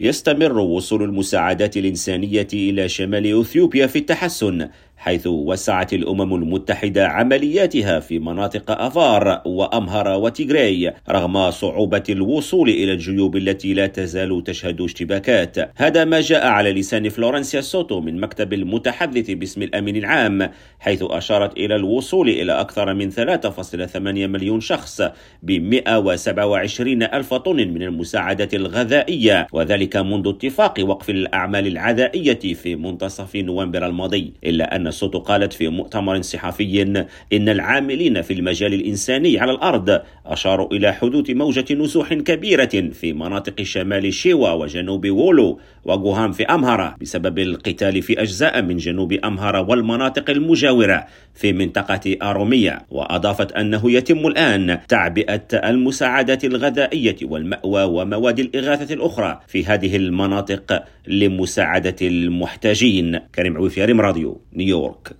يستمر وصول المساعدات الإنسانية إلى شمال إثيوبيا في التحسن، حيث وسعت الأمم المتحدة عملياتها في مناطق أفار وأمهر وتيغراي رغم صعوبة الوصول إلى الجيوب التي لا تزال تشهد اشتباكات. هذا ما جاء على لسان فلورنسيا سوتو من مكتب المتحدث باسم الأمين العام، حيث أشارت إلى الوصول إلى أكثر من 3.8 مليون شخص ب127 ألف طن من المساعدات الغذائية، وذلك منذ اتفاق وقف الأعمال العدائية في منتصف نوفمبر الماضي. إلا أن سوتو قالت في مؤتمر صحفي إن العاملين في المجال الإنساني على الأرض أشاروا إلى حدوث موجة نزوح كبيرة في مناطق شمال شيوا وجنوب وولو وغوهام في أمهرة بسبب القتال في أجزاء من جنوب أمهرة والمناطق المجاورة في منطقة أرومية. وأضافت أنه يتم الآن تعبئة المساعدات الغذائية والمأوى ومواد الإغاثة الأخرى في هذه المناطق لمساعدة المحتاجين. كريم عويفي، ريم راديو، نيويورك.